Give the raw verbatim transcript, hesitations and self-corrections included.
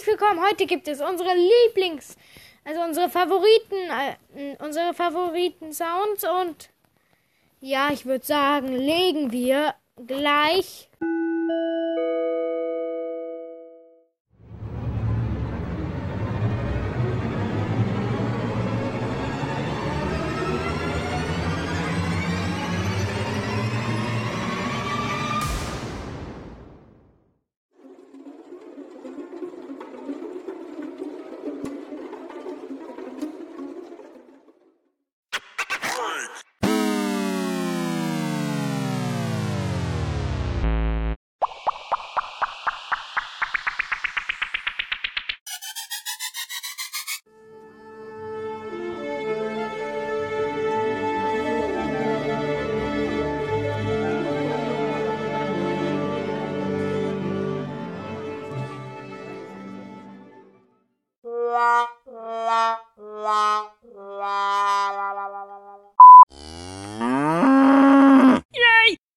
willkommen. Heute gibt es unsere Lieblings, also unsere Favoriten, äh, unsere Favoriten-Sounds und ja, ich würde sagen, legen wir gleich